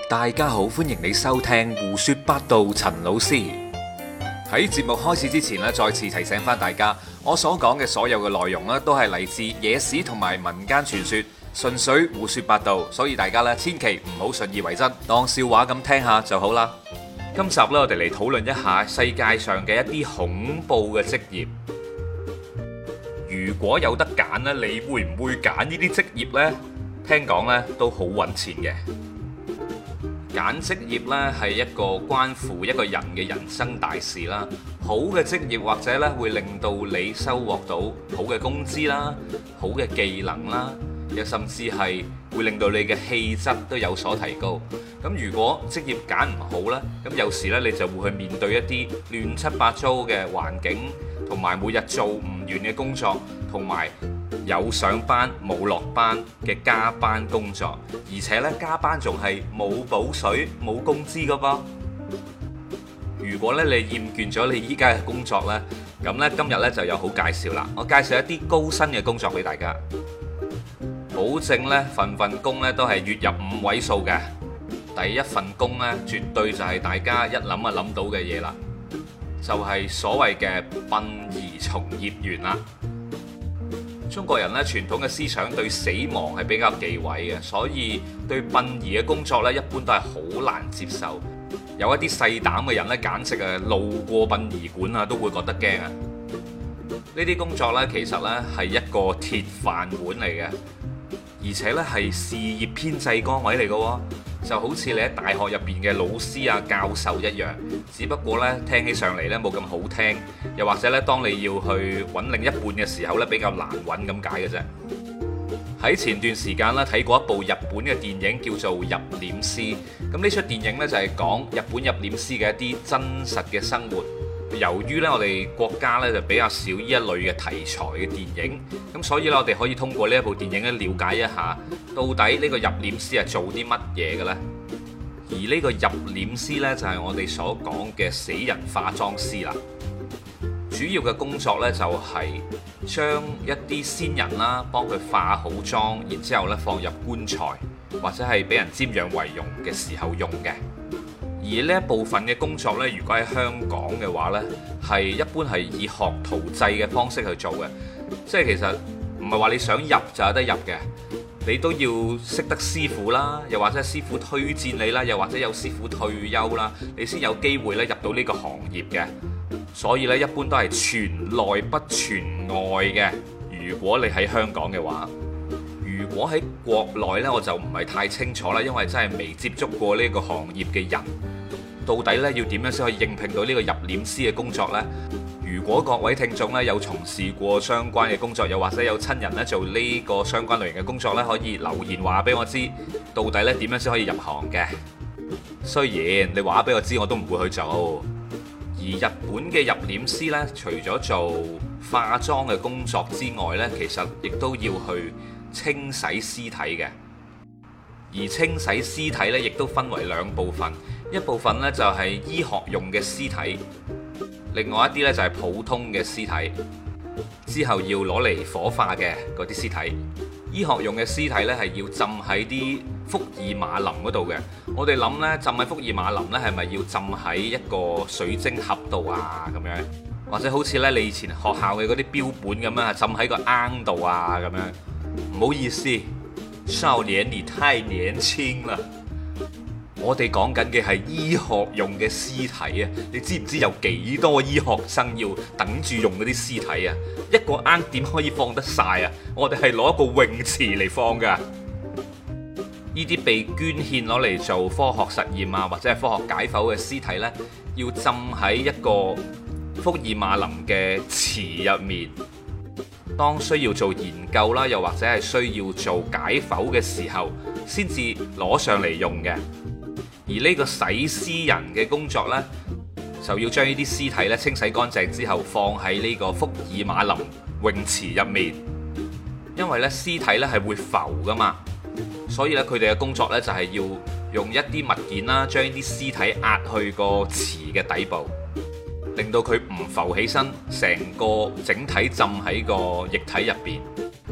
大家好，歡迎你收聽胡說八道。陳老師喺節目開始之前咧，再次提醒翻大家，我所講嘅所有嘅內容咧，都係嚟自野史同埋民間傳說，純粹胡說八道，所以大家咧千祈唔好信以為真，當笑話咁聽下就好啦。今集咧，我哋嚟討論一下世界上嘅一啲恐怖嘅職業。如果有得揀咧，你會唔會揀呢啲職業呢？聽講咧都好揾錢嘅。揀職業呢係一個關乎一個人嘅人生大事啦。好嘅職業或者咧會令到你收穫到好嘅工資啦、好嘅技能啦，又甚至係會令到你嘅氣質都有所提高。咁如果職業揀唔好呢，咁有時呢，你就會去面對一啲亂七八糟嘅環境，同埋每日做唔完嘅工作，同埋有上班冇落班嘅加班工作，而且呢，加班仲係冇補水冇工資噶噃。如果咧你厭倦咗你依家嘅工作呢，咁呢，今日呢就有好介紹啦。我介紹一啲高薪嘅工作俾大家，保證呢份工呢都係月入5位數嘅。第一份工呢，絕對就係大家一諗就諗到嘅嘢啦，就係所謂嘅殯儀從業員啦。中國人咧傳統嘅思想對死亡係比較忌諱嘅，所以對殯儀嘅工作咧一般都係好難接受。有一啲細膽嘅人咧，簡直啊路過殯儀館啊都會覺得驚啊！呢啲工作咧其實咧係一個鐵飯碗嚟嘅，而且咧係事業編制崗位嚟嘅喎，就好似你喺大學入邊嘅老師啊、教授一樣，只不過咧聽起上嚟咧冇咁好聽，又或者咧當你要去揾另一半嘅時候咧比較難揾咁解嘅啫。喺前段時間咧睇過一部日本嘅電影叫做《入殮師》，咁呢出電影呢，就係講日本入殮師嘅一啲真實嘅生活。由於咧我哋國家呢，就比較少呢一類嘅題材嘅電影，咁所以咧我哋可以通過呢一部電影咧了解一下，到底呢個入殮師係做啲乜嘢嘅咧？而呢個入殮師呢，就係我哋所講嘅死人化妝師啦。主要嘅工作呢，就係將一啲先人啦，幫佢化好妝，然之後呢放入棺材，或者係俾人瞻仰遺容嘅時候用嘅。而呢一部分嘅工作呢，如果喺香港嘅話呢，係一般係以學徒制嘅方式去做嘅，即係其實唔係話你想入就有得入嘅，你都要識得師傅啦，又或者係師傅推薦你啦，又或者有師傅退休啦，你先有機會咧入到呢個行業嘅。所以咧，一般都係傳內不傳外嘅。如果你喺香港嘅話，如果喺國內呢，我就唔係太清楚啦，因為真係未接觸過呢個行業嘅人，到底呢要點樣先可以應聘到呢個入殮師嘅工作呢？如果各位聽眾呢有從事過相關嘅工作，又或者有親人呢做呢個相關類型嘅工作呢，可以留言話俾我知，到底呢點樣先可以入行嘅？雖然你話俾我知，我都唔會去做。而日本嘅入殮師呢，除咗做化妝嘅工作之外呢，其實亦都要去清洗屍體嘅。而清洗屍體呢，亦都分為兩部分，一部分呢就係醫學用嘅屍體，另外一啲呢就係普通嘅屍體，之後要攞嚟火化嘅嗰啲屍體。醫學用嘅屍體呢，係要浸喺啲福爾馬林嗰度嘅。我哋諗呢，浸喺福爾馬林呢，係咪要浸喺一個水晶盒度啊？咁樣，或者好似呢，你以前學校嘅嗰啲標本咁樣，浸喺個罌度啊？咁樣，唔好意思，少年你太年輕啦。我哋講緊嘅係醫學用嘅屍體啊！你知唔知有幾多醫學生要等住用嗰啲屍體啊？一個罌點可以放得晒啊？我哋係攞一個泳池嚟放噶。呢啲被捐獻攞嚟做科學實驗啊，或者係科學解剖嘅屍體呢，要浸喺一個福爾馬林嘅池入面。當需要做研究啦，又或者係需要做解剖嘅時候，先至攞上嚟用嘅。而呢個洗屍人嘅工作呢，就要將呢啲屍體咧清洗乾淨之後，放喺呢個福爾馬林泳池入面。因為呢屍體呢係會浮噶嘛，所以呢，佢哋嘅工作呢，就係要用一啲物件啦，將呢啲屍體壓去個池嘅底部，令到佢唔浮起身，成個整體浸喺個液體入邊。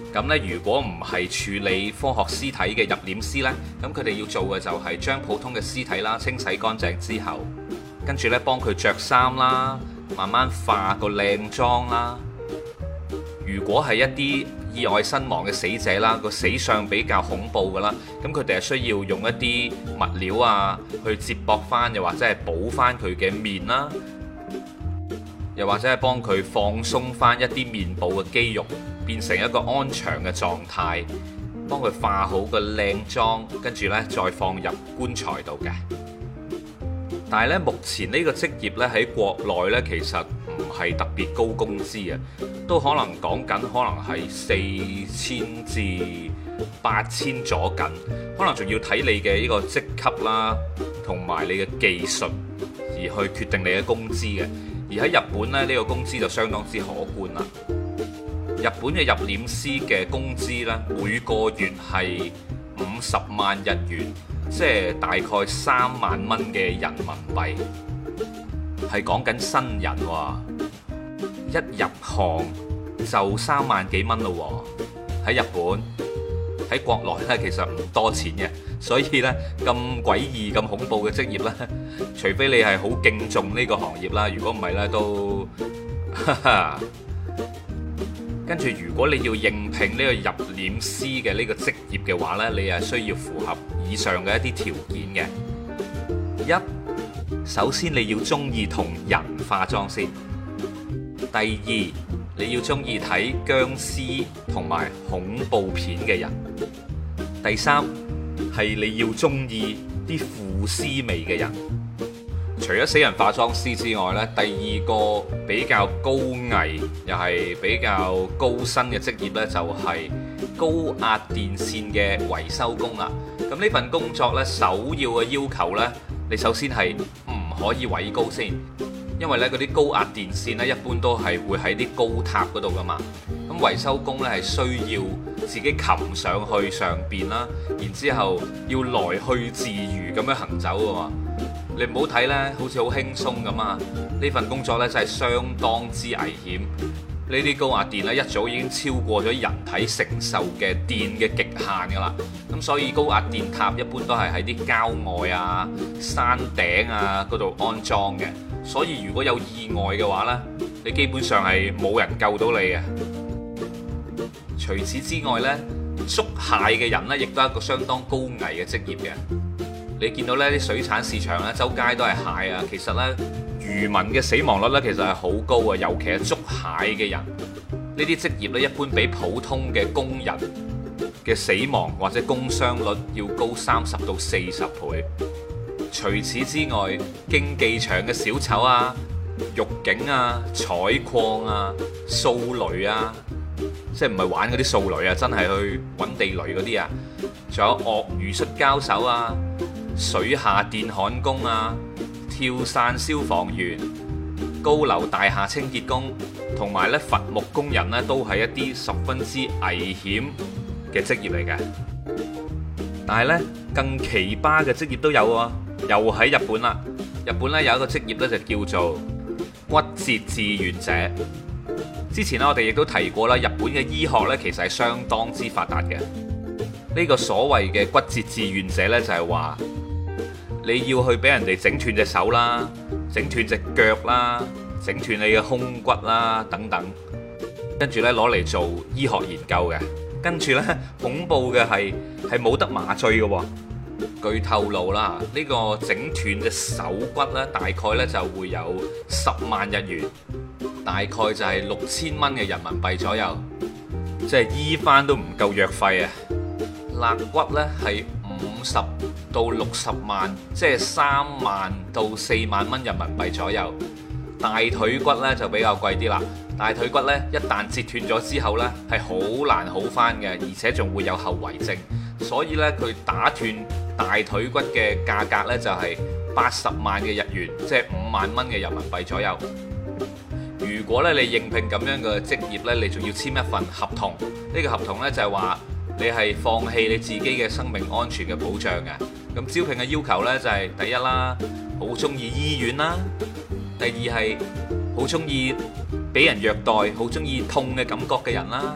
咁呢，如果唔係處理科學屍體嘅入殮師呢，咁佢哋要做嘅就係將普通嘅屍體啦清洗乾淨之後，跟住呢幫佢着衫啦，慢慢化個靚妝啦。如果係一啲意外身亡嘅死者啦，個死相比較恐怖噶啦，咁佢哋係需要用一啲物料啊去接駁翻，又或者係補翻佢嘅面啦，又或者係幫佢放鬆翻一啲面部嘅肌肉，變成一個安詳嘅狀態，幫佢化好個靚妝，跟住呢再放入棺材度嘅。但係咧，目前呢個職業咧喺國內呢，其實唔係特別高工資啊，都可能講緊可能係4000至8000左緊，可能仲要睇你嘅呢個職級啦，同埋你嘅技術而去決定你嘅工資嘅。而喺日本咧，呢個工資就相當之可觀啦。日本嘅入殮師嘅工資呢，每個月係50萬日元，即係大概3萬蚊嘅人民幣，係講緊新人喎，一入行就3萬幾蚊咯喎。喺日本，喺國內呢，其實唔多錢嘅，所以呢，咁詭異咁恐怖嘅職業呢，除非你係好敬重呢個行業啦，如果唔係呢，都哈哈。跟住，如果你要應聘呢個入殮師嘅呢個職業嘅話呢，你係需要符合以上嘅一啲條件嘅。一，首先你要中意同人化妝先。第二，你要中意睇僵屍同埋恐怖片嘅人。第三，係你要中意啲腐屍味嘅人。除咗死人化妝師之外呢，第二個比較高危又係比較高薪嘅職業呢，就係高壓電線嘅維修工啦。咁呢份工作呢，首要嘅要求呢，你首先係唔可以畏高先，因為呢嗰啲高壓電線呢，一般都係會喺啲高塔嗰度噶嘛。咁維修工呢，係需要自己擒上去上邊啦，然之後要來去自如咁樣行走噶嘛。你唔好睇呢，好似好輕鬆咁啊！呢份工作呢，真係相當之危險。呢啲高壓電呢，一早已經超過咗人體承受嘅電嘅極限噶啦。咁所以高壓電塔一般都係喺啲郊外啊、山頂啊嗰度安裝嘅。所以如果有意外嘅話呢，你基本上係冇人救到你嘅。除此之外呢，捉蟹嘅人呢，亦都係一個相當高危嘅職業嘅。你見到呢啲水產市場呢，周街都係蟹啊！其實呢，漁民嘅死亡率呢，其實係好高啊，尤其係捉蟹嘅人。呢啲職業呢，一般比普通嘅工人嘅死亡或者工傷率要高30到40倍。除此之外，競技場嘅小丑啊、獄警啊、採礦啊、掃雷啊，即係唔係玩嗰啲掃雷啊，真係去揾地雷嗰啲啊，仲有鱷魚摔跤手啊、水下電焊工啊、跳傘消防員、高樓大廈清潔工，同埋咧伐木工人咧，都係一啲十分之危險嘅職業嚟嘅。但係咧，更奇葩嘅職業都有喎，又喺日本啦。日本咧有一個職業咧就叫做骨折志願者。之前咧我哋亦都提過啦，日本嘅醫學咧其實係相當之發達嘅。呢個所謂嘅骨折志願者咧就係話，你要去俾人哋整斷隻手啦，整斷隻腳啦，整斷你嘅胸骨啦等等，跟住呢攞嚟做醫學研究嘅。跟住呢，恐怖嘅係冇得麻醉嘅喎。據透露啦，呢個整斷隻手骨呢，大概呢就會有10萬日元，大概就係6000蚊嘅人民幣左右，即係醫翻都唔夠藥費啊！肋骨呢係50到60萬，即係3萬到4萬蚊人民幣左右。大腿骨呢就比較貴啲啦。大腿骨呢一旦折斷咗之後呢，係好難好翻嘅，而且仲會有後遺症。所以呢，佢打斷大腿骨嘅價格呢就係80萬嘅日元，即係5萬蚊嘅人民幣左右。如果咧你應聘咁樣嘅職業呢，你仲要簽一份合同。呢個合同呢就係話，你係放棄你自己嘅生命安全嘅保障嘅。咁招聘嘅要求呢，就係第一啦，好中意醫院啦；第二係好中意俾人虐待、好中意痛嘅感覺嘅人啦；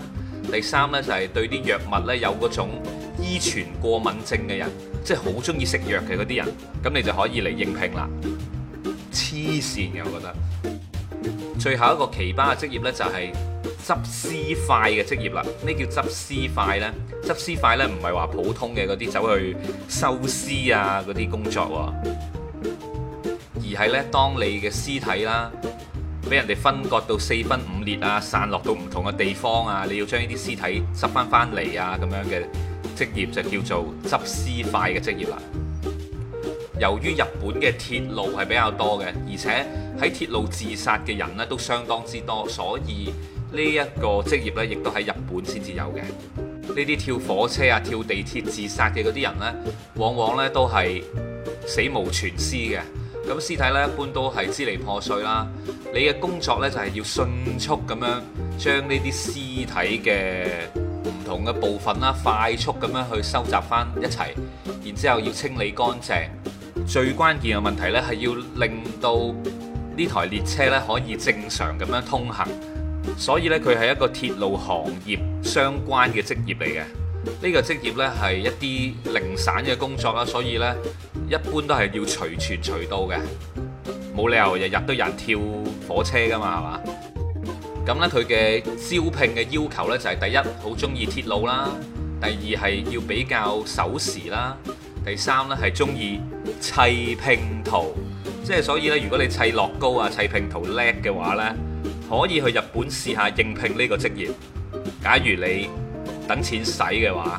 第三呢，就係對啲藥物呢有嗰種依存過敏症嘅人，即係好中意食藥嘅嗰啲人，咁你就可以嚟應聘啦。黐線嘅，我覺得。最後一個奇葩嘅職業呢，就係執屍塊嘅職業啦。咩叫執屍塊呢？執屍塊呢，唔係話普通嘅嗰啲走去收屍啊嗰啲工作喎，而係呢，當你嘅屍體啦俾人哋分割到四分五裂啊，散落到唔同嘅地方啊，你要將呢啲屍體執翻嚟啊，咁樣嘅職業就叫做執屍塊嘅職業啦。由於日本嘅鐵路係比較多嘅，而且喺鐵路自殺嘅人呢都相當之多，所以呢一個職業呢亦都喺日本先至有嘅。呢啲跳火車啊、跳地鐵自殺嘅嗰啲人呢，往往呢都係死無全屍嘅。咁屍體呢一般都係支離破碎啦。你嘅工作呢，就係要迅速咁樣將呢啲屍體嘅唔同嘅部分啦，快速咁樣去收集翻一齊，然之後要清理乾淨。最關鍵嘅問題呢，係要令到呢台列車呢可以正常咁樣通行，所以呢，佢係一個鐵路行業相關嘅職業嚟嘅。呢個職業呢，係一啲零散嘅工作啦，所以呢，一般都係要隨傳隨到嘅，冇理由日日都有人跳火車噶嘛，係嘛？咁呢，佢嘅招聘嘅要求呢，就係第一，好中意鐵路啦；第二係要比較守時啦；第三呢，係中意砌拼圖，即係所以呢，如果你砌樂高啊、砌拼圖叻嘅話呢，可以去日本試下應聘呢個職業。假如你等錢使嘅話，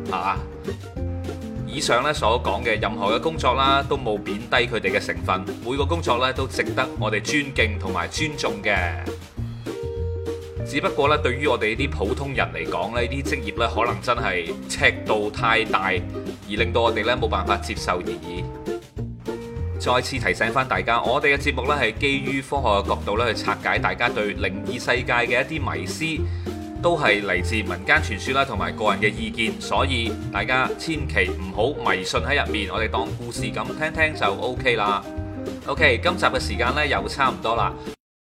以上呢所講嘅任何嘅工作啦，都冇貶低佢哋嘅成分，每個工作呢都值得我哋尊敬同埋尊重嘅。只不過呢，對於我哋呢啲普通人嚟講呢，呢啲職業呢可能真係尺度太大，而令到我哋呢冇辦法接受而已。再次提醒翻大家，我哋嘅節目呢係基於科學嘅角度呢去拆解大家對靈異世界嘅一啲迷思，都係嚟自民間傳說啦，同埋個人嘅意見，所以大家千祈唔好迷信喺入面，我哋當故事咁聽聽就 OK 啦。OK，今集嘅時間呢又差唔多啦。